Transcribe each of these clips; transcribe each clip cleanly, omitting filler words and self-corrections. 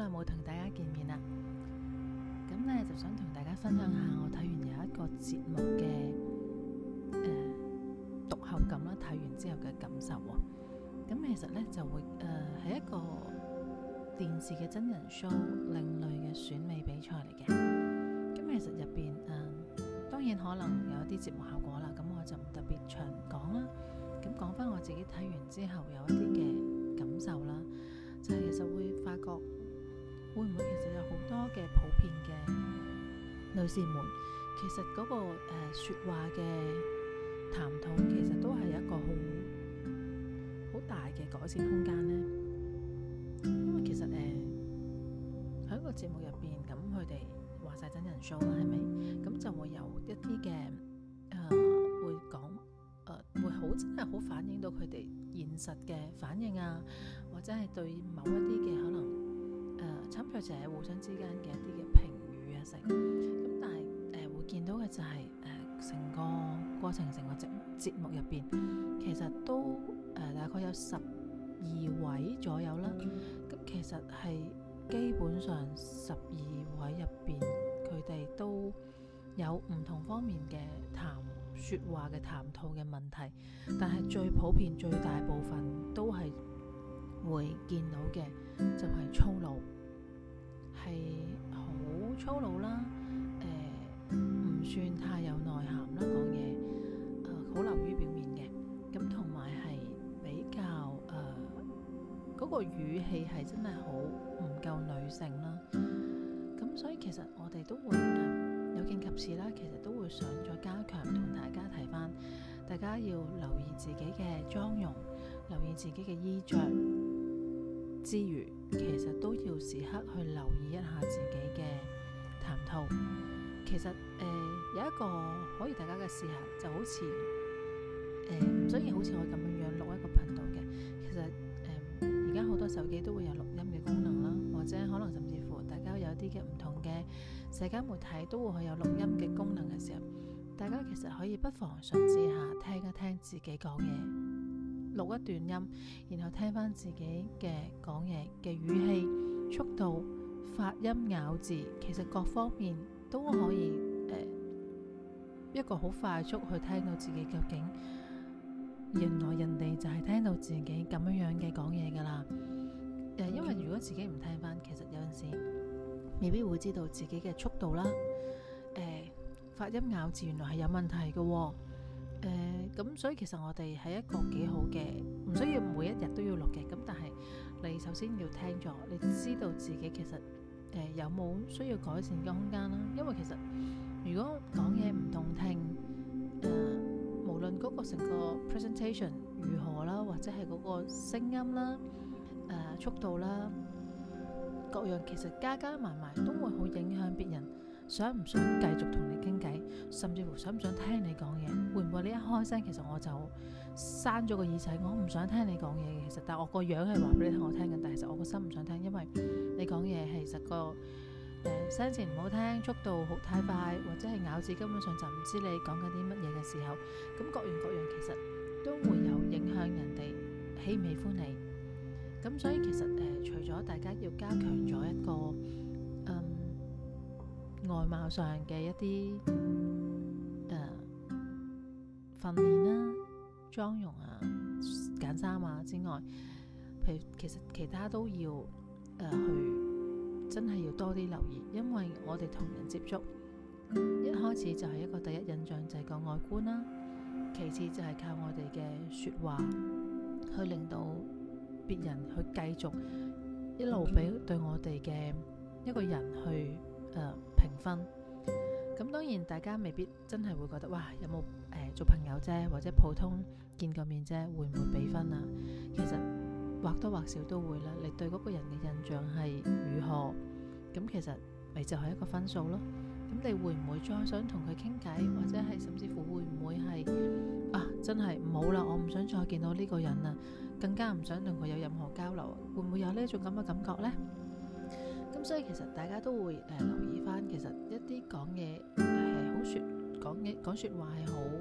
耐冇同大家見面啦，咁呢就想同大家分享下我睇完有一個節目嘅讀後感啦，睇完之後嘅感受喎。咁其實呢就會係一個電視嘅真人 show 另類嘅選美比賽嚟嘅。咁其實入邊當然可能有一啲節目效果啦，咁我就唔特別長講啦。咁講翻我自己睇完之後有一啲嘅感受啦，就係其實會發覺會唔會其實有好多嘅普遍嘅女士們，其實嗰個說話嘅談吐其實都係一個好大嘅改善空間呢。因為其實喺個節目入邊，咁佢哋話晒真人 show 啦，係咪？咁就會有一啲嘅會講會好真係好反映到佢哋現實嘅反應啊，或者係對某一啲嘅可能參賽者互相之間嘅一啲嘅評語啊成。咁但係會見到嘅就係成個過程，成個節目入邊，其實都大概有12位左右啦。咁其實係基本上12位入邊，佢哋都有唔同方面嘅說話嘅談吐嘅問題，但係最普遍最大部分都係會見到嘅就係粗魯，係好粗魯啦，唔算太有內涵啦，講嘢好流於表面嘅，咁同埋係比較嗰個語氣係真係好唔夠女性啦。咁所以其實我哋都會有見及此啦，其實都會想再加強同大家提翻，大家要留意自己嘅妝容，留意自己嘅衣着之餘，其實都要時刻去留意一下自己嘅談吐。其實有一個可以大家嘅試下，就好似唔需要好似我咁樣錄一個頻道嘅。其實而家好多手機都會有錄音嘅功能啦，或者可能甚至乎大家有一啲嘅唔同嘅社交媒體都會有錄音嘅功能嘅時候，大家其實可以不妨嘗試下聽一聽自己講嘢，錄一段音，然後聽翻自己嘅講嘢嘅語氣、速度、發音、咬字，其實各方面都可以一個好快速去聽到自己究竟原來人哋就係聽到自己咁樣嘅講嘢噶啦。因為如果自己唔聽翻，其實有陣時未必會知道自己嘅速度啦，發音咬字原來係有問題嘅喎。咁所以其實我哋係一個幾好嘅，唔需要每一日都要錄嘅。咁但係你首先要聽咗，你知道自己其實有冇需要改善嘅空間啦。因為其實如果講嘢唔動聽，無論嗰個成個 presentation 如何啦，或者係嗰個聲音啦、速度啦，各樣其實加埋都會好影響別人想唔想繼續同你傾偈，甚至乎想唔想聽你講嘢。會唔會你一開聲，其實我就閂咗個耳仔，我唔想聽你講嘢嘅。其實但係我個樣係話俾你聽我聽緊，但係其實我個心唔想聽，因為你講嘢其實個聲線唔好聽，速度好太快，或者係咬字根本上就唔知你講緊啲乜嘢嘅時候，咁各樣其實都會有影響人哋喜唔喜歡你。咁所以其實除咗大家要加強咗一個外貌上嘅一啲訓練啦、妝容啊、揀衫啊之外，譬如其實其他都要去真係要多啲留意，因為我哋同人接觸，一開始就係一個第一印象就係個外觀啦，其次就係靠我哋嘅說話去令到別人去繼續一路俾對我哋嘅一個人去評分。咁當然大家未必真係會覺得哇，有冇做朋友啫，或者普通見個面啫，會唔會俾分啊？其實或多或少都會啦。你對嗰個人嘅印象係如何，咁其實咪就係一個分數咯。咁你會唔會再想同佢傾偈，或者係甚至乎會唔會係真係唔好啦，我唔想再見到呢個人啊，更加唔想同佢有任何交流，會唔會有呢一種咁嘅感覺呢？咁所以其實大家都會留意翻，其實一啲講嘢係好講說話係好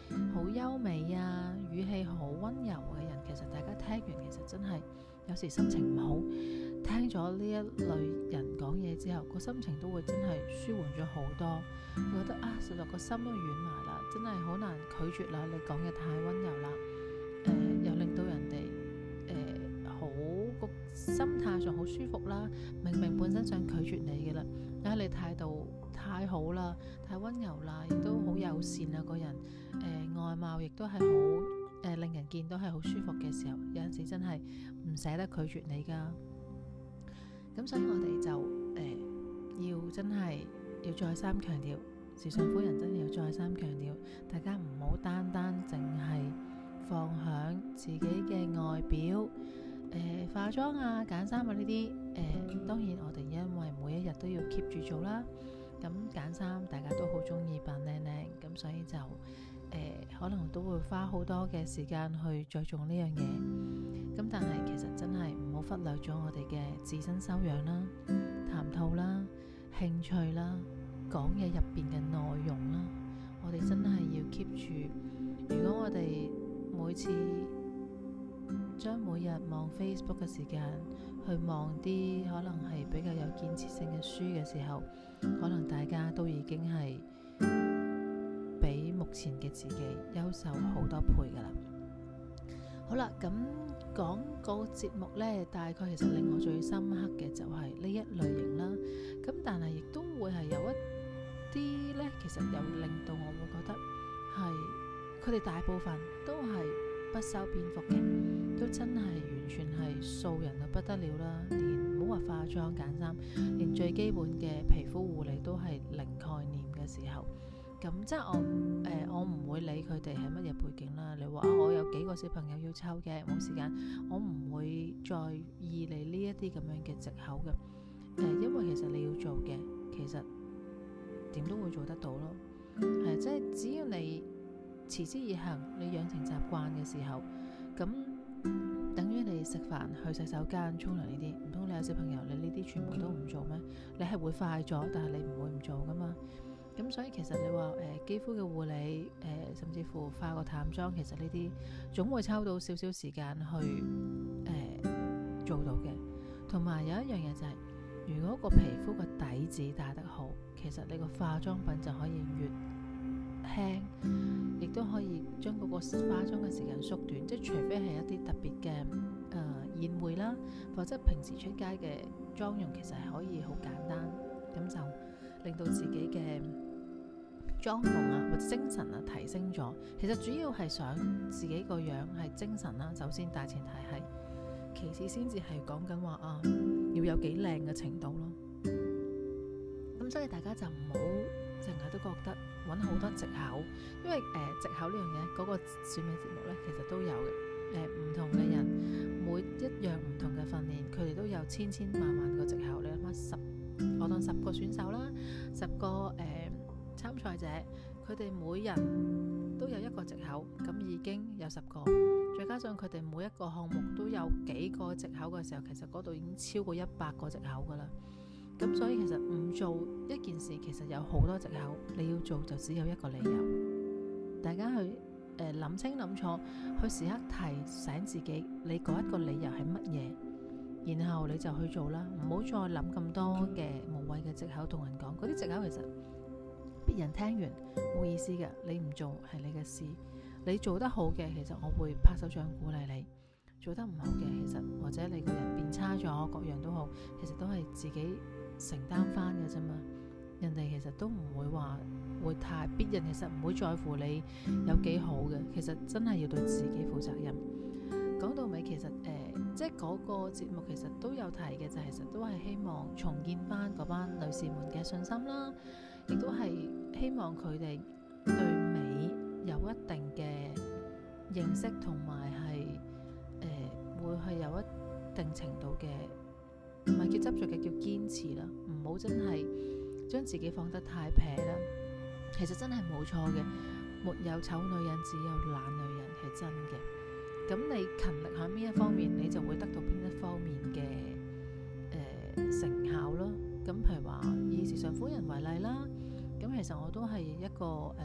好優美啊，語氣好溫柔嘅人，其實大家聽完其實真係有時心情唔好，聽咗呢一類人講嘢之後，個心情都會真係舒緩咗好多，覺得實在個心都軟埋啦，真係好難拒絕啦，你講嘢太溫柔啦，又令到人哋好個心態上好舒服啦，明明本身想拒絕你嘅啦，你態度太好啦，太溫柔啦，亦都好友善啊，個人外貌亦都係好令人見到係好舒服嘅時候，有陣時真係唔捨得拒絕你噶。咁所以我哋就要真係要再三強調，時尚夫人真係要再三強調，大家唔好單單淨係放響自己嘅外表，化妝啊、揀衫啊呢啲，當然我哋因為每一日都要 keep 住做啦。咁揀衫大家都好中意扮靚靚，咁所以就可能都會花好多嘅時間去着重呢樣嘢。咁但係其實真係唔好忽略咗我哋嘅自身修養啦、談吐啦、興趣啦、講嘢入邊嘅內容啦，我哋真係要 keep 住。如果我哋每次將每日望 Facebook 嘅時間去望啲可能係比較有建設性嘅書嘅時候，可能大家都已經係比目前嘅自己優秀好多倍噶啦。好啦，咁講個節目呢，大概其實令我最深刻嘅就係呢一類型啦。咁但係亦都會係有一啲呢，其實又令到我會覺得係佢哋大部分都係不修邊幅嘅，都真係完全係素人到不得了啦。連唔好話化妝揀衫，連最基本嘅皮膚護理都係零概念嘅時候，咁即係我唔會理佢哋係乜嘢背景啦。你話我有幾個小朋友要湊嘅，冇時間，我唔會再意你呢一啲咁樣嘅藉口嘅。因為其實你要做嘅，其實點都會做得到咯。即係只要你持之以恆，你養成習慣嘅時候，咁等於你食飯、去洗手間、沖涼呢啲，唔通你有小朋友，你呢啲全部都唔做咩？你係會快咗，但係你唔會唔做噶嘛。咁所以其實你話肌膚嘅護理，甚至乎化個淡妝，其實呢啲總會抽到少少時間去做到嘅。同埋有一樣嘢就係，如果個皮膚個底子打得好，其實你個化妝品就可以越輕，亦都可以將嗰個化妝嘅時間縮短。即係除非係一啲特別嘅宴會啦，或者平時出街嘅妝容，其實係可以好簡單，咁就令到自己嘅妝容啊或者精神啊提升咗。其實主要係想自己個樣係精神啦，首先大前提係，其次先至係講緊話要有幾靚嘅程度咯。咁所以大家就唔好成日都覺得揾好多藉口，因為藉口呢樣嘢嗰個選美節目呢，其實都有嘅。唔同嘅人每一樣唔同嘅訓練，佢哋都有千萬萬個藉口。你諗下我當10個選手啦，10個參賽者，佢哋每人都有一個藉口，咁已經有10個，再加上佢哋每一個項目都有幾個藉口嘅時候，其實嗰度已經超過100個藉口噶啦。咁所以其實唔做一件事，其實有好多藉口，你要做就只有一個理由。大家去諗清諗楚，去時刻提醒自己，你嗰一個理由係乜嘢，然後你就去做啦，唔好再諗咁多嘅無謂嘅藉口同人講。嗰啲藉口其實別人聽完冇意思嘅，你唔做係你嘅事，你做得好嘅，其實我會拍手掌鼓勵你；做得唔好嘅，其實或者你個人變差咗，各樣都好，其實都係自己承擔翻嘅啫嘛。人哋其實都唔會話會太，別人其實唔會在乎你有幾好嘅，其實真係要對自己負責任。講到尾，其實即係嗰個節目其實都有提嘅，就其實都係希望重建翻嗰班女士們嘅信心啦，亦都係希望佢哋對美有一定嘅認識，同埋係會係有一定程度嘅，唔係叫執着嘅，叫堅持啦，唔好真係將自己放得太撇啦。其實真係冇錯嘅，沒有醜女人，只有懶女人，係真嘅。咁你勤力喺邊一方面，你就會得到邊一方面嘅成效咯。咁譬如話以時尚夫人為例啦，咁其實我都係一個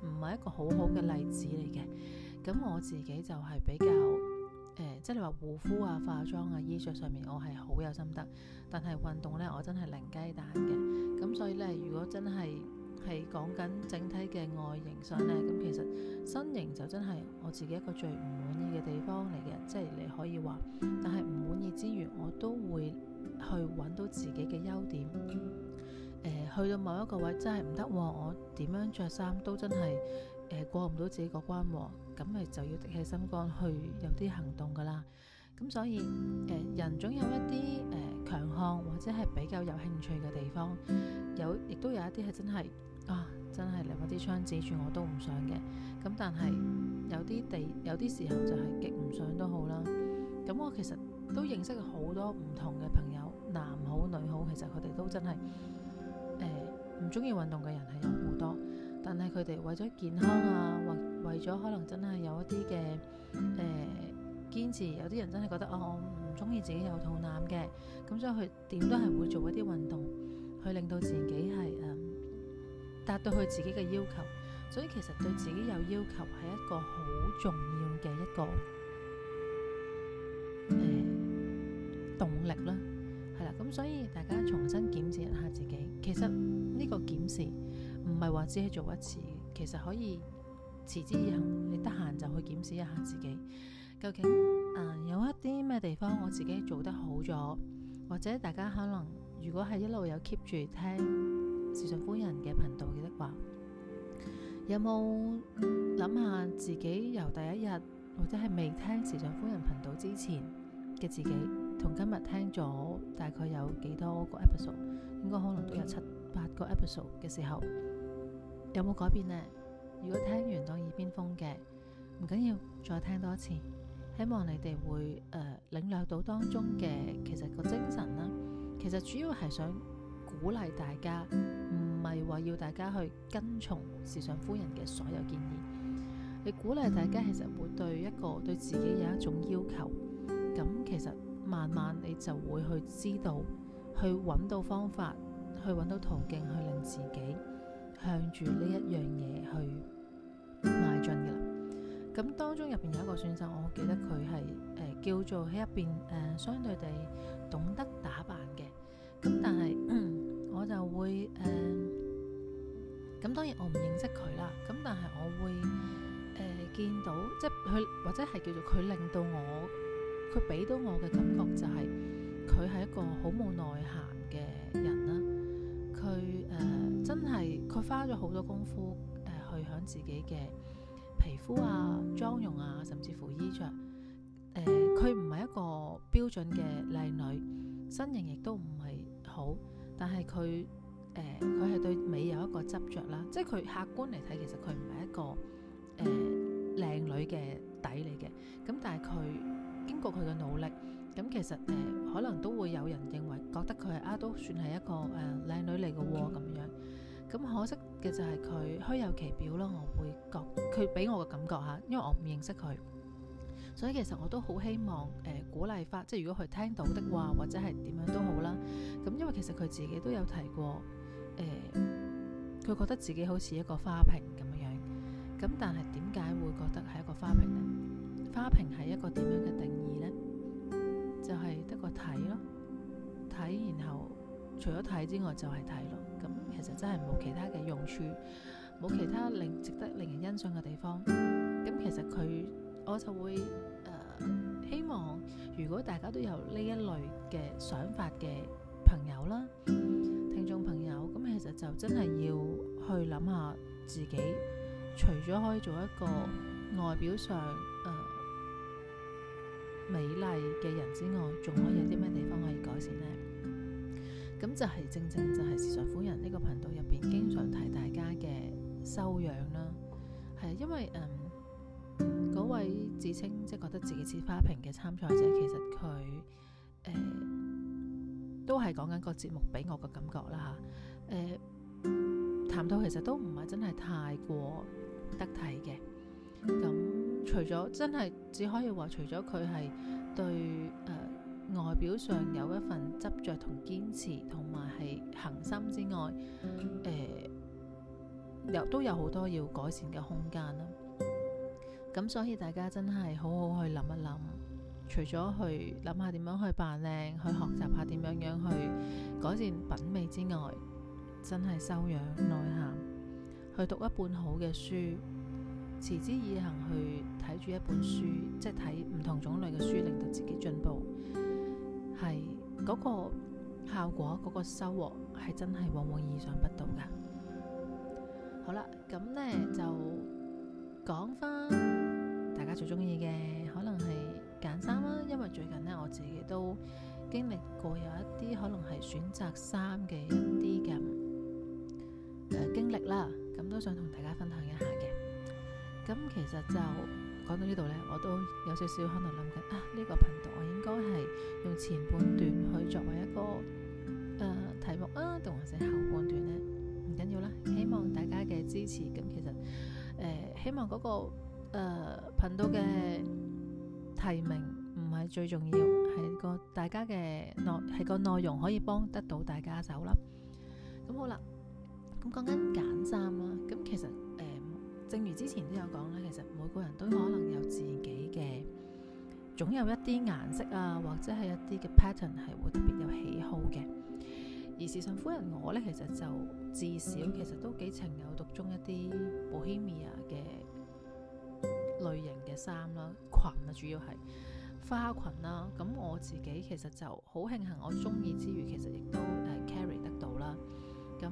唔係一個好好嘅例子嚟嘅。咁我自己就係比較即係你話護膚啊、化妝啊、衣着上面我係好有心得，但係運動呢，我真係零雞蛋嘅。咁所以呢，如果真係講緊整體嘅外形上呢，咁其實身形就真係我自己一個最唔滿意嘅地方嚟嘅，即係你可以話，但係唔滿意之餘，我都會去揾到自己嘅優點。去到某一個位真係唔得，我點樣着衫都真係過唔到自己個關，咁咪就要滴起心肝去有啲行動噶啦。咁所以人總有一啲強項或者係比較有興趣嘅地方，亦都有一啲係真係真係嚟把啲槍指住我都唔想嘅。咁但係有啲時候就係極唔想都好啦。咁我其實都認識好多唔同嘅朋友，男好女好，其實佢哋都真係唔中意運動嘅人係有好多，但係佢哋為咗健康啊，或為咗可能真係有一啲嘅堅持，有啲人真係覺得我唔中意自己有肚腩嘅，咁所以佢點都係會做一啲運動去令到自己係達到佢自己嘅要求。所以其實對自己有要求係一個好重要嘅一個動力啦，係啦。咁所以大家重新檢視一下自己，其實呢個檢視唔係話只係做一次，其實可以持之以恆。你得閒就去檢視一下自己，究竟有一啲咩地方我自己做得好咗，或者大家可能如果係一路有 keep 住聽時尚夫人嘅頻道嘅話，有冇諗下自己由第一日或者係未聽時尚夫人頻道之前嘅自己，同今日聽咗大概有幾多個 episode， 應該可能都有7-8個 episode 嘅時候，有冇改變呢？如果聽完當耳邊風嘅，唔緊要，再聽多一次，希望你哋會領略到當中嘅其實個精神啦。其實主要係想鼓勵大家，唔係話要大家去跟從時尚夫人嘅所有建議。你鼓勵大家其實會對自己有一種要求，咁其實慢慢你就會去知道，去揾到方法，去揾到途徑，去令自己向住呢一樣嘢去邁進嘅啦。咁當中入邊有一個選手，我記得佢係叫做喺入邊相對地懂得打扮嘅。咁但係我就會咁當然我唔認識佢啦。咁但係我會見到，即係佢或者係叫做佢令到我，佢俾到我嘅感覺就係佢係一個好冇內涵嘅人啦。佢真係佢花咗好多功夫去響自己嘅皮膚啊、妝容啊，甚至乎衣着。佢唔係一個標準嘅靚女，身形亦都唔係好，但係佢係對美有一個執着啦。即係佢客觀嚟睇，其實佢唔係一個靚女嘅底嚟嘅。咁但係佢經過佢嘅努力，咁其實可能都會有人認為覺得佢係都算係一個靚女嚟嘅喎咁樣。咁可惜嘅就係佢虛有其表咯。我會覺佢俾我嘅感覺嚇，因為我唔認識佢，所以其實我都好希望鼓勵翻，即係如果佢聽到的話，或者係點樣都好啦。咁因為其實佢自己都有提過，佢覺得自己好似一個花瓶咁樣。咁但係點解會覺得係一個花瓶呢？花瓶係一個點樣嘅定義呢？就係得個睇咯，睇，然後除咗睇之外就係睇咯。咁其實真係冇其他嘅用處，冇其他值得令人欣賞嘅地方。咁其實我就會希望，如果大家都有呢一類嘅想法嘅朋友啦、聽眾朋友，咁其實就真係要去諗下自己，除咗可以做一個外表上美麗嘅人之外，仲可以有啲咩地方可以改善呢？咁就係正就係時尚夫人呢個頻道入邊經常提大家嘅修養啦。係因為嗰位自稱即係覺得自己似花瓶嘅參賽者，其實佢都係講緊個節目俾我嘅感覺啦嚇。談到其實都唔係真係太過得體嘅。咁除咗真係只可以話，除咗佢係對外表上有一份執着同堅持同埋係恆心之外， 都有好多要改善嘅空間啦。咁所以大家真係好好去諗一諗，除咗去諗下點樣去扮靚，去學習下點樣去改善品味之外，真係修養內涵，去讀一本好嘅書，持之以恆去睇住一本書，即係睇唔同種類嘅書，令到自己進步，係嗰個效果，嗰個收穫係真係往往意想不到噶。好啦，咁呢就講翻大家最中意嘅，可能係揀衫啦。因為最近呢，我自己都經歷過有一啲可能係選擇衫嘅一啲嘅經歷啦，咁都想同大家分享一下嘅。咁其實就講到呢度呢，我都有少少可能諗緊呢個頻道我應該係用前半段去作為一個題目啊，定還是後半段呢？唔緊要啦，希望大家嘅支持。咁其實希望嗰個頻道嘅提名唔係最重要，係大家嘅係個內容可以幫得到大家手啦。咁好啦，咁講緊揀衫啦。咁其實正如之前都有講啦，其實每個人都可能有自己嘅，總有一啲顏色啊，或者係一啲嘅 pattern 係會特別有喜好嘅。而時尚夫人我呢，其實就至少其實都幾情有獨鍾一啲 Bohemia 嘅類型嘅衫啦，裙啊，主要係花裙啦。咁我自己其實就好慶幸，我中意之餘，其實亦都carry 得到啦。咁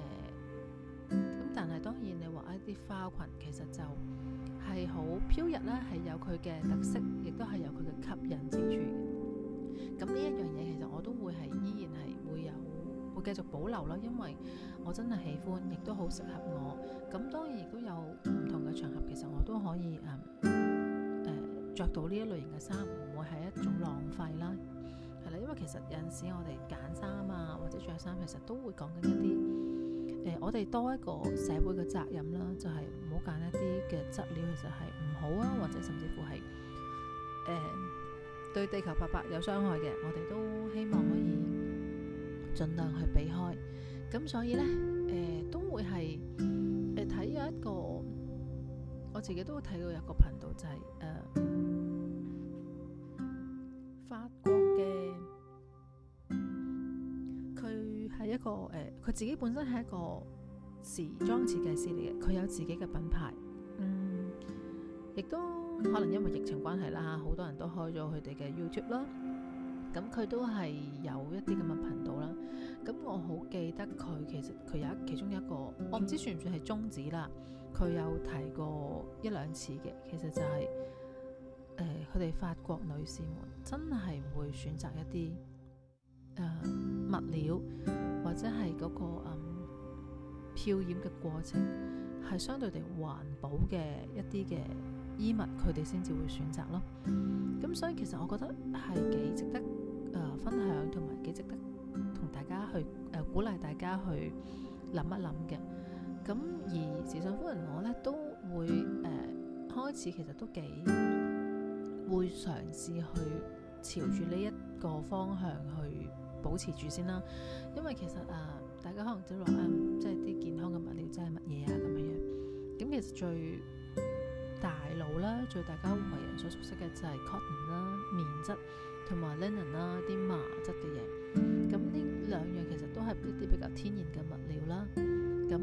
但係當然你話一啲花裙其實就係好飄逸啦，係有佢嘅特色，亦都係有佢嘅吸引之處嘅。咁呢一樣嘢其實我都會係依然係會繼續保留啦，因為我真係喜歡，亦都好適合我。咁當然亦都有唔同嘅場合，其實我都可以着到呢一類型嘅衫，唔會係一種浪費啦。係啦，因為其實有陣時我哋揀衫啊，或者着衫，其實都會講緊一啲我哋多一個社會嘅責任啦，就係唔好揀一啲嘅質料其實係唔好啊，或者甚至乎係對地球白白有傷害嘅，我哋都希望可以盡量去避開。咁所以呢，都會係睇有一個，我自己都睇到有一個頻道就係法國嘅，佢係一個佢自己本身係一個時裝設計師嚟嘅，佢有自己嘅品牌，亦都可能因為疫情關係啦，好多人都開咗佢哋嘅 YouTube 啦。咁佢都係有一啲咁嘅頻道啦。咁我好記得佢其實佢有其中一個，我唔知算唔算係宗旨啦。佢有提過一兩次嘅，其實就係佢哋法國女士們真係會選擇一啲物料或者係嗰個漂染嘅過程係相對地環保嘅一啲嘅衣物，佢哋先至會選擇咯。咁所以其實我覺得係幾值得分享，同埋幾值得同大家去鼓勵大家去諗一諗嘅。咁而時尚夫人我呢都會開始其實都幾會嘗試去朝住呢一個方向去保持住先啦。因為其實大家可能都話即係啲健康嘅物料即係乜嘢啊咁樣。咁其實最大路啦，最大家為人所熟悉嘅就係 cotton 啦、棉質同埋 linen 啦，啲麻質嘅嘢。咁呢兩樣其實都係一啲比較天然嘅物料啦。咁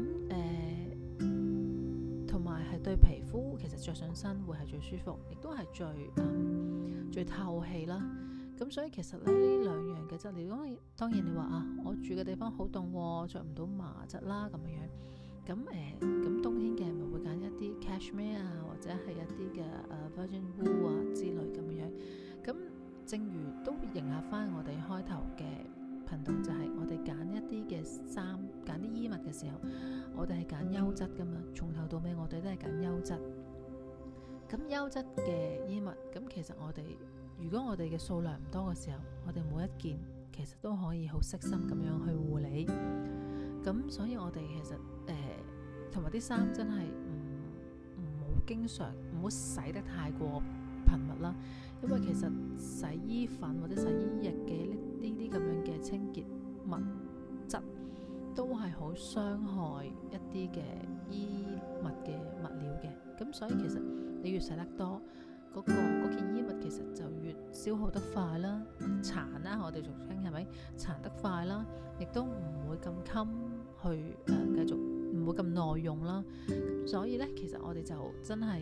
同埋係對皮膚其實着上身會係最舒服，亦都係最透氣啦。咁所以其實咧呢兩樣嘅質料，當然你話我住嘅地方好凍，着唔到麻質啦咁樣。咁冬天嘅咪會揀一啲 cashmere 啊，或者係一啲嘅virgin wool 啊之類咁樣。咁正如都迎合翻我哋開頭嘅頻道，就係我哋揀一啲嘅衫，揀啲衣物嘅時候，我哋係揀優質噶嘛。從頭到尾我哋都係揀優質。咁優質嘅衣物，咁其實我哋如果我哋嘅數量唔多嘅時候，我哋每一件其實都可以好悉心咁樣去護理。咁所以我哋其實同埋啲衫真係唔好經常，唔好洗得太過頻密啦。因為其實洗衣粉或者洗衣液嘅呢啲咁樣嘅清潔物質， 都係好傷害一啲嘅衣物嘅物料嘅。咁所以其實你越洗得多，嗰件衣物其實就越消耗得快啦，殘啦，我哋俗稱係咪殘得快啦，亦都唔會咁襟去繼續，唔會咁耐用啦。咁所以呢，其實我哋就真係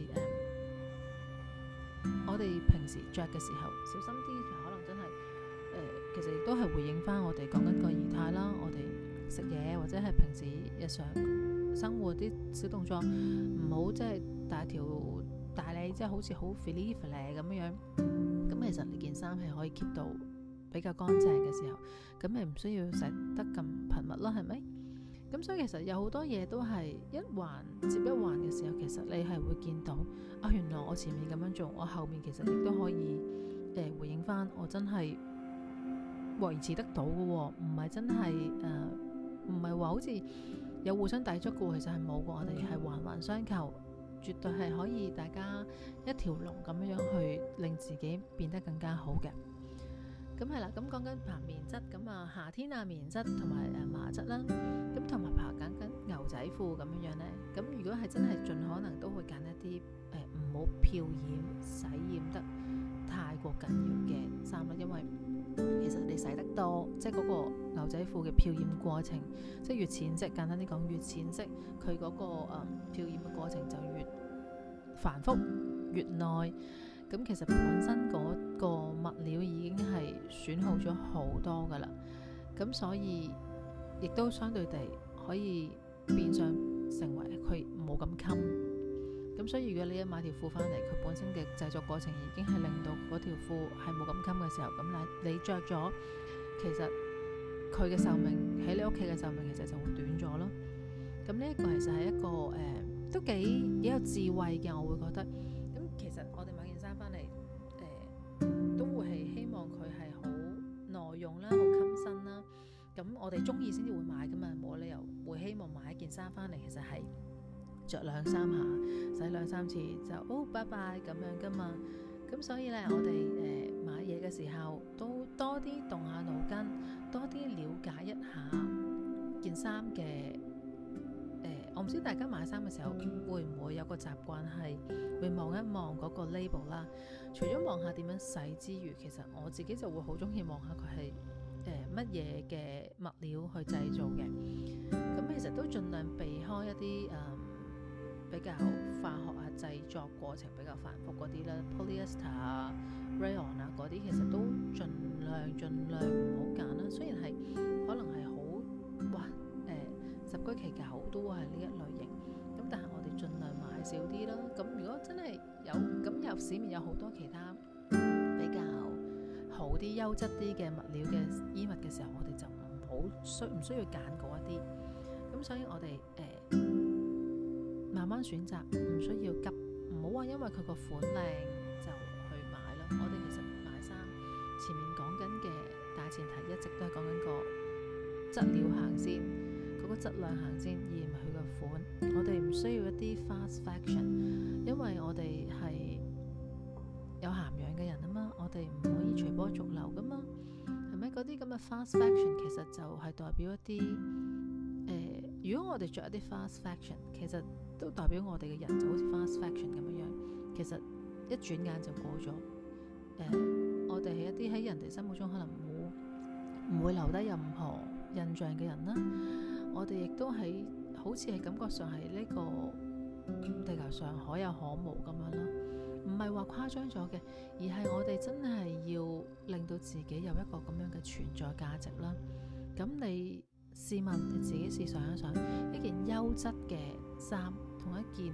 我哋平時着嘅時候小心啲，可能真係其實亦都係回應翻我哋講緊個儀態啦。我哋食嘢或者係平時日常生活啲小動作，唔好即係大你即係好似好 fili 咁樣。咁其實你件衫係可以 keep 到比較乾淨嘅時候，咁你唔需要洗得咁頻密啦，係咪？咁所以其實有好多嘢都係一環接一環嘅時候，其實你係會見到原來我前面咁樣做，我後面其實亦都可以回應翻，我真係維持得到嘅喎，唔係真係唔係話好似有互相抵觸嘅喎，其實係冇嘅，我哋係環環相扣，絕對係可以大家一條龍咁樣去令自己變得更加好嘅。咁係啦，咁講緊爬棉質，咁夏天棉質同埋麻質啦，咁同埋爬緊牛仔褲咁樣呢。咁如果係真係盡可能都會揀一啲唔好漂染、洗染得太過緊要嘅衫啦，因為其實你洗得多，即係嗰個牛仔褲嘅漂染過程，即係越淺色，簡單啲講，越淺色，佢嗰個漂染嘅過程就越繁複、越耐。咁其實本身嗰個物料已經係損耗咗好多噶啦，咁所以亦都相對地可以變相成為佢冇咁襟。咁所以如果你一買條褲翻嚟，佢本身嘅製作過程已經係令到嗰條褲係冇咁襟嘅時候，咁你着咗，其實佢嘅壽命喺你屋企嘅壽命其實就會短咗咯。咁呢一個其實係一個都幾有智慧嘅，我會覺得。咁其實我哋買件衫翻嚟都會係希望佢係好耐用啦，好襟身啦。咁我哋中意先至會買噶嘛，冇理由會希望買一件衫翻嚟其實係着2-3下，洗2-3次就拜拜咁樣噶嘛。咁所以呢，我哋買嘢嘅時候都多啲動下腦筋，多啲了解一下件衫嘅。我唔知大家買衫嘅時候會唔會有個習慣係會望一望嗰個 label 啦。除咗望下點樣洗之餘，其實我自己就會好中意望下佢係乜嘢嘅物料去製造嘅。咁其實都盡量避開一啲比較化學製作過程比較繁複嗰啲啦 ，polyester rayon 嗰啲，其實都盡量唔好揀啦。雖然係可能係好十居其九都係呢一類型，咁但係我哋盡量買少啲啦。咁如果真係有市面有好多其他比較好啲、優質啲嘅物料嘅衣物嘅時候，我哋就唔需要揀嗰一啲。咁所以我哋慢慢選擇，唔需要急，唔好話因為佢個款靚就去買咯。我哋其實買衫前面講緊嘅大前提一直都係講緊個質料行先，嗰個質量行先，而唔係佢個款。我哋唔需要一啲 fast fashion， 因為我哋係有涵養嘅人啊嘛，我哋唔可以隨波逐流噶嘛，係咪？嗰啲咁嘅 fast fashion 其實就係代表一啲如果我哋着一啲 fast fashion， 其實都代表我哋嘅人就好似 fast fashion 咁樣，其實一轉眼就過咗。我哋係一啲喺人哋心目中可能唔會留低任何印象嘅人啦。我哋亦都係好似係感覺上係呢個地球上可有可無咁樣啦，唔係話誇張咗嘅，而係我哋真係要令到自己有一個咁樣嘅存在價值啦。咁你試問你自己試想一想，一件優質嘅衫同一件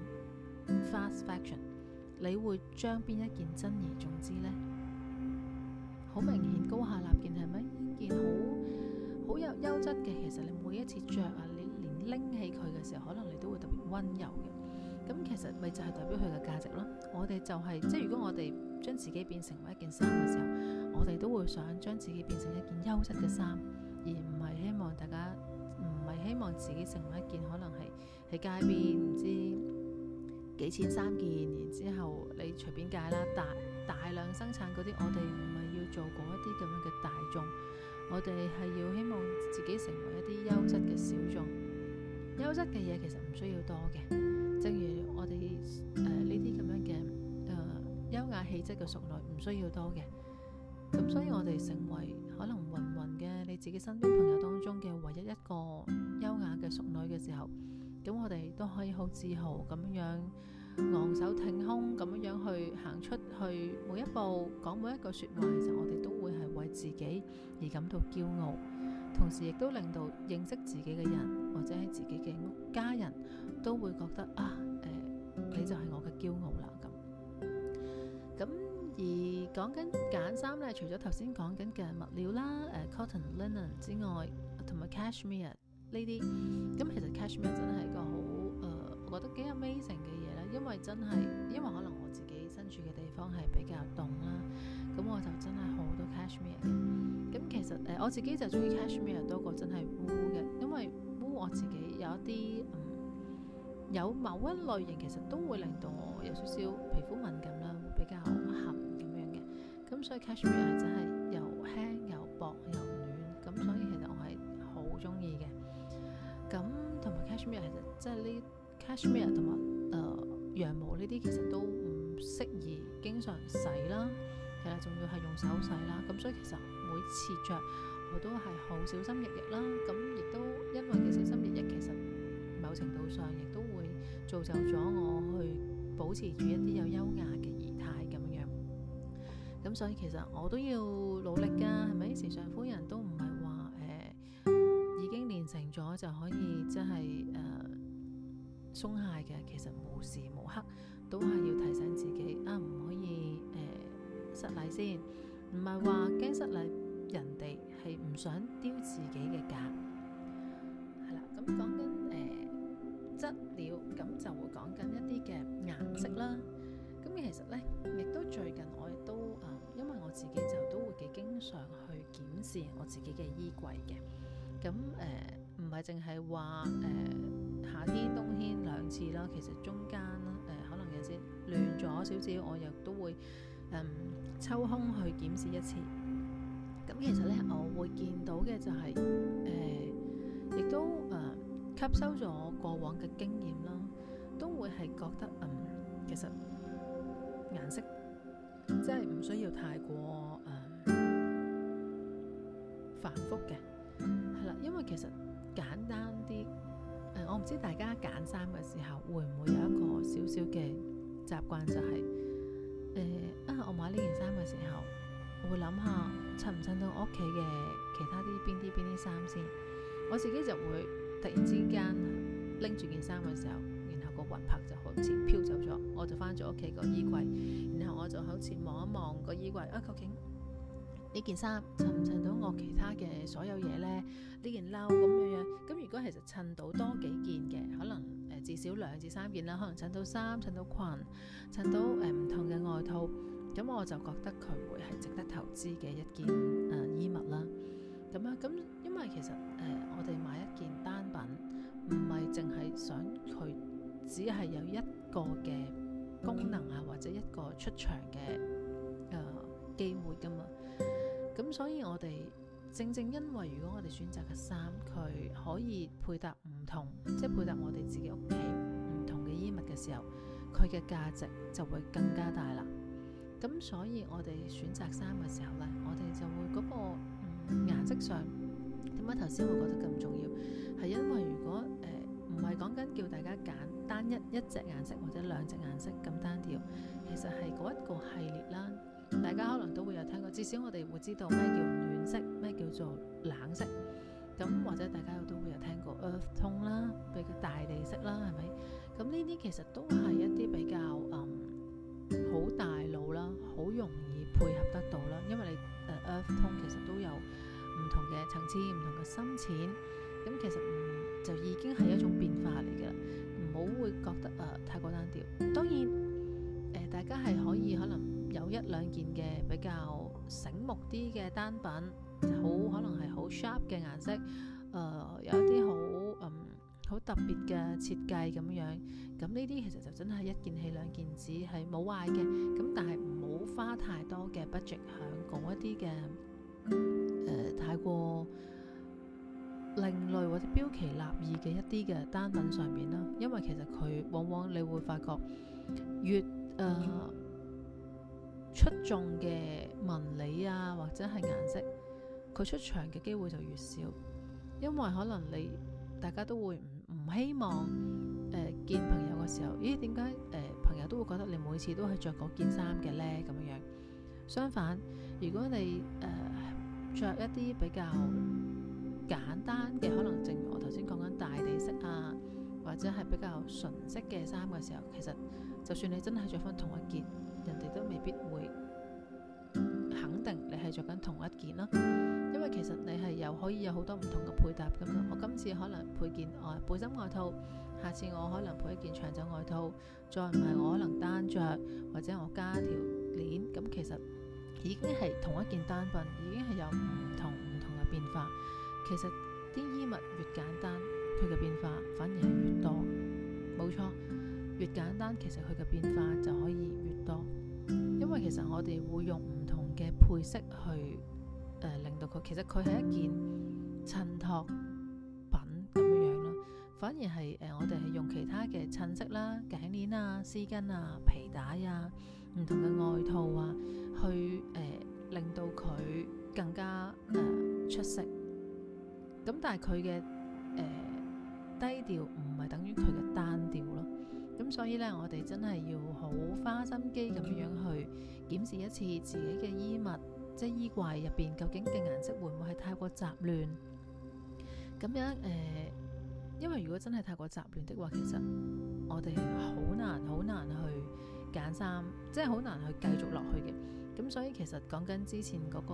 fast fashion， 你會將邊一件珍而重之呢？好明顯高下立見，係咪？一件好有優質嘅，其實你每一次着你連拎起佢嘅時候，可能你都會特別溫柔嘅。咁其實咪就係代表佢嘅價值咯。我哋就係即係如果我哋將自己變成為一件衫嘅時候，我哋都會想將自己變成一件優質嘅衫，而唔係希望大家希望自己成為一件可能係喺街邊唔知幾錢3件，然之後你隨便戒啦，大量量生產嗰啲，我哋唔係要做嗰一啲咁樣嘅大眾，我哋係要希望自己成為一啲優質嘅小眾。優質嘅嘢其實唔需要多嘅，正如我哋呢啲咁樣嘅優雅氣質嘅淑女唔需要多嘅。咁所以我哋成為可能芸芸嘅你自己身邊朋友當中嘅唯一一個優雅嘅淑女嘅時候，咁我哋都可以好自豪咁樣昂首挺胸咁樣去行出去每一步，講每一句說話，其實我哋都會係為自己而感到驕傲，同時亦都令到認識自己嘅人或者係自己嘅家人都會覺得你就係我嘅驕傲啦咁。而講緊揀衫咧，除咗頭先講緊嘅物料啦，cotton linen 之外，同埋 cashmere 呢啲，咁其實 cashmere 真係一個好我覺得幾 amazing 嘅嘢啦，因為可能我自己身處嘅地方係比較凍啦，咁我就真係好多 cashmere 嘅。咁其實我自己就中意 cashmere 多過真係 wool 嘅，因為 wool 我自己有一啲有某一類型其實都會令到我有少少皮膚敏感啦，會比較痕咁樣嘅。咁所以 cashmere 係真係又輕又薄又暖，咁所以其實我係好中意嘅。咁同埋 cashmere 其實即係呢 cashmere 同埋羊毛呢啲其實都唔適宜經常洗啦，係啦，仲要係用手洗啦。咁所以其實每次着我都係好小心翼翼啦。咁亦都因為嘅小心翼翼，其實某程度上亦都會造就咗我去保持住一啲有優雅嘅儀態咁樣。咁所以其實我都要努力㗎，係咪？時尚夫人都唔係話已經練成咗就可以即係鬆懈嘅。其實無時無刻都係要提醒自己唔可以失禮先，唔係話驚失禮人哋，係唔想丟自己嘅架。係啦，咁講緊質料，咁就會講緊一啲嘅顏色啦。咁其實呢，亦都最近我亦都因為我自己就都會幾經常去檢視我自己嘅衣櫃嘅。咁唔係淨係話夏天冬天兩次啦，其實中間可能有時亂咗少少，我又都會抽空去檢視一次。咁其實呢，我會見到嘅就係亦都吸收咗過往嘅經驗啦，都會係覺得其實顏色即係唔需要太過繁複嘅，係啦，因為其實簡單啲。我唔知大家揀衫嘅時候會唔會有一個少少嘅習慣，就係我買呢件衫嘅時候，我會諗下襯唔襯到我屋企嘅其他啲邊啲衫先。我自己就會突然之間拎住件衫嘅時候，然後個魂魄就好似飄走咗，我就翻咗屋企個衣櫃，然後我就好似望一望個衣櫃，究竟呢件衫襯唔襯到我其他嘅所有嘢呢？呢件褸咁樣，咁如果其實襯到多幾件嘅，可能至少2至3件啦，可能襯到衫、襯到裙、襯到唔同嘅外套，咁我就覺得佢會係值得投資嘅一件衣物啦。咁因為其實我哋買一件單品，唔係淨係想佢只係有一個嘅功能或者一個出場嘅機會噶嘛。咁所以我哋正因為如果我哋選擇嘅衫，佢可以配搭唔同，即係配搭我哋自己屋企唔同嘅衣物嘅時候，佢嘅價值就會更加大啦。咁所以我哋選擇衫嘅時候呢，我哋就會嗰個顏色上點解頭先會覺得咁重要，係因為如果唔係講緊叫大家揀單一隻顏色或者2隻顏色咁單調，其實係嗰一個系列啦。大家可能都會有聽過，至少我哋會知道咩叫暖色，咩叫做冷色。咁或者大家都會有聽過 earth tone 啦，比較大地色啦，係咪？咁呢啲其實都係一啲比較好大路啦，好容易配合得到啦。因為你earth tone 其實都有唔同嘅層次、唔同嘅深淺，咁其實就已經係一種變化嚟嘅啦。唔好會覺得太過單調。當然大家係可以可能有1-2件嘅比較醒目啲嘅單品，可能係好 sharp 嘅顏色，有一啲好特別嘅設計咁樣。咁呢啲其實就真係1件起2件止係冇壞嘅。咁但係唔好花太多 budget 喺嗰一啲嘅太過另類或者標奇立異嘅一啲嘅單品上面啦，因為其實佢往往你會發覺越出眾嘅紋理啊或者係顏色，佢出場嘅機會就越少，因為可能大家都會唔希望見朋友嘅時候，咦點解朋友都會覺得你每次都係着嗰件衫嘅呢？咁樣。相反，如果你着一啲比較簡單嘅，可能正如我頭先講緊大地色啊，或者係比較純色嘅衫嘅時候，其實就算你真係着翻同一件，人哋都未必會肯定你係着緊同一件啦。因為其實你係可以有好多唔同嘅配搭咁樣。我今次可能配件背心外套，下次我可能配一件長袖外套，再唔係我可能單着，或者我加條鏈，咁其實已經係同一件單品，已經係有唔同嘅變化。其實啲衣物越簡單，佢嘅變化反而係越多。冇錯，越簡單其實佢嘅變化就可以越多，因為其實我哋會用唔同嘅配飾去令到佢，其實佢係一件襯托品咁樣咯。反而係我哋係用其他嘅襯色啦、頸鏈啊、絲巾啊、皮帶啊、唔同嘅外套啊，去令到佢更加出色。咁但係佢嘅低調唔係等於佢嘅單調咯。咁所以呢，我哋真係要好花心機咁樣去檢視一次自己嘅衣物，即係衣櫃入邊究竟嘅顏色會唔會係太過雜亂？咁樣因為如果真係太過雜亂的話，其實我哋好難去揀衫，即係好難去繼續落去嘅。咁所以其實講緊之前嗰個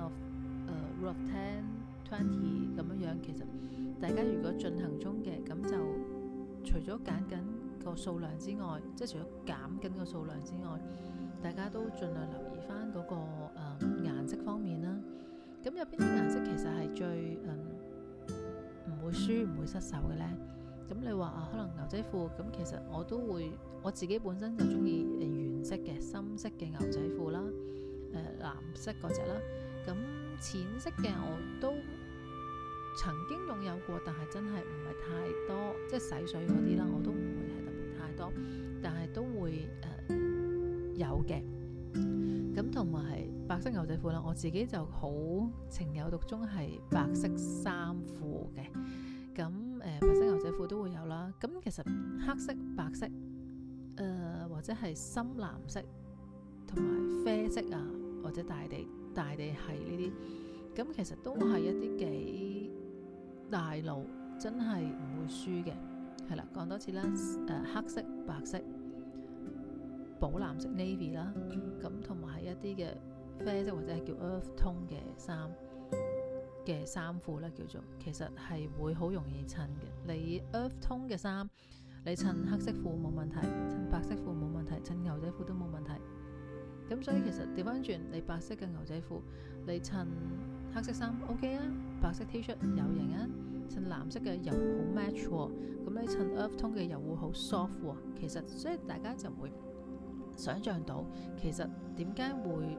rule of 10-20咁樣，其實大家如果進行中嘅，咁就除咗揀緊個數量之外，即係除咗減緊個數量之外，大家都盡量留意翻嗰個顏色方面啦。咁有邊啲顏色其實係最唔會輸唔會失手嘅呢？咁你話可能牛仔褲，咁其實我自己本身就中意原色嘅深色嘅牛仔褲啦，藍色嗰隻啦。咁淺色嘅我都曾經擁有過，但係真係唔係太多，即係洗水嗰啲啦，我都唔會係特別太多，但係都會有嘅。咁同埋白色牛仔褲啦，我自己就好情有獨鍾係白色衫褲嘅。咁白色牛仔褲都會有啦。咁其實黑色、白色或者係深藍色同埋啡色啊，或者大地係呢啲，咁其實都係一啲幾大路，真係唔會輸嘅。係啦，講多次啦，黑色、白色、寶藍色 navy 啦，咁同埋係一啲嘅啡色或者係叫 earth tone 嘅衫褲咧，叫做其實係會好容易襯嘅。你 earth tone 嘅衫，你襯黑色褲冇問題，襯白色褲冇問題，襯牛仔褲都冇問題。咁所以其實調翻轉，你白色嘅牛仔褲，你襯黑色衫 OK 啊，白色 T 恤有型啊，襯藍色嘅又好 match 喎，咁你襯 earth tone 嘅又會好 soft 喎。其實所以大家就會想像到，其實點解會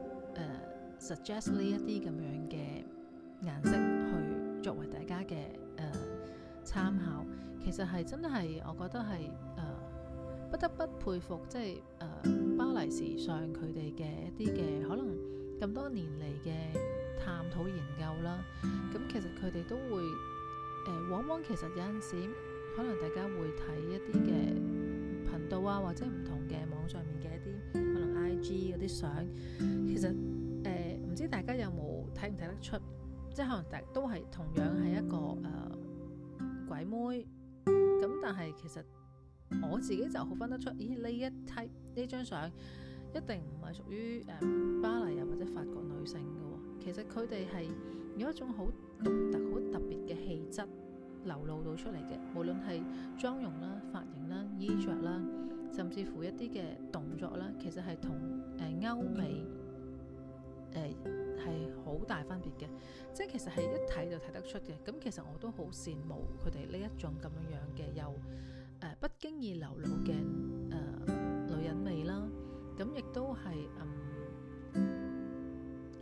suggest 呢一啲咁樣嘅顏色去作為大家嘅參考，其實係真係我覺得係不得不佩服，即係巴黎時尚佢哋嘅一啲嘅可能咁多年嚟嘅探討研究啦。咁其實佢哋都會往往其實有陣時可能大家會睇一啲嘅頻道啊，或者唔同嘅網上面嘅一啲可能 IG 嗰啲相，其實唔知大家有冇睇唔睇得出，即係可能都係同樣係一個鬼妹咁，但係其實我自己就好分得出，咦呢張相一定唔係屬於巴黎啊或者法國女性嘅喎。其實佢哋係有一種好獨特、好特別嘅氣質流露到出嚟嘅，無論係妝容啦、髮型啦、衣着啦，甚至乎一啲嘅動作啦，其實係同歐美係好大分別嘅，即係其實係一睇就睇得出嘅。咁其實我都好羨慕佢哋呢一種咁樣嘅又不經意流露嘅女人味啦。咁亦都係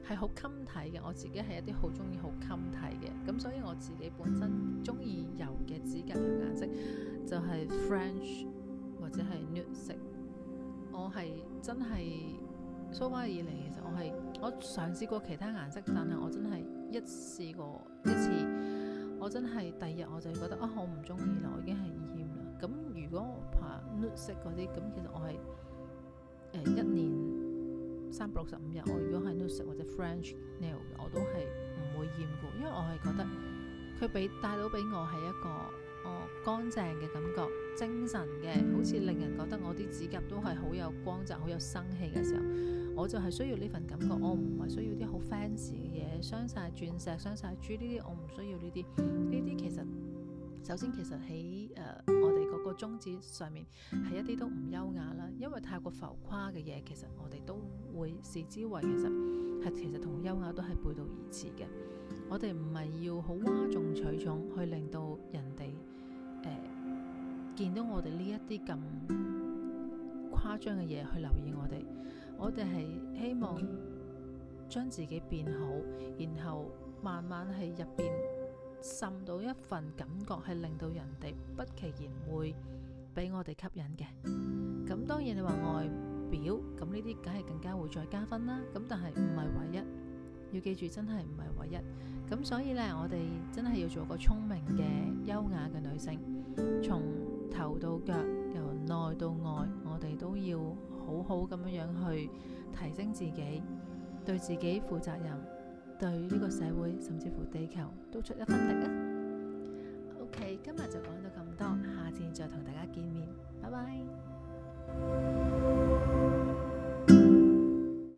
係好襟睇嘅。我自己係一啲好中意好襟睇嘅，咁所以我自己本身中意油嘅指甲油顏色就係 French 或者係 nude 色。我係真係so far以嚟，其實我嘗試過其他顏色，但係我真係一試過一次，我真係第二日我就覺得我唔中意啦，我已經係厭啦。咁如果我怕 nude 色嗰啲，咁其實我係一年365日，我如果係 nude 色或者 French nail 我都係唔會厭嘅，因為我係覺得佢帶到俾我係一個乾淨嘅感覺，精神嘅，好似令人覺得我啲指甲都係好有光澤、好有生氣嘅時候，我就係需要呢份感覺。我唔係需要啲好 fancy 嘅嘢，鑲晒鑽石、鑲晒珠呢啲，我唔需要呢啲。呢啲其實首先其實喺我哋嗰個宗旨上面係一啲都唔優雅啦，因為太過浮誇嘅嘢，其實我哋都會視之為其實同優雅都係背道而馳嘅。我哋唔係要好嘩眾取寵去令到人哋見到我哋呢一啲咁誇張嘅嘢去留意我哋。我哋係希望將自己變好，然後慢慢係入邊滲到一份感覺，係令到人哋不其然會俾我哋吸引嘅。咁當然你話外表，咁呢啲梗係更加會再加分啦。咁但係唔係唯一，要記住真係唔係唯一。咁所以呢，我哋真係要做個聰明嘅優雅嘅女性，從頭到腳，由內到外，我哋都要好好咁樣去提升自己，對自己負責任，對呢個社會甚至乎地球都出一分力啊。OK， 今日就講到咁多，下次再同大家見面，拜拜。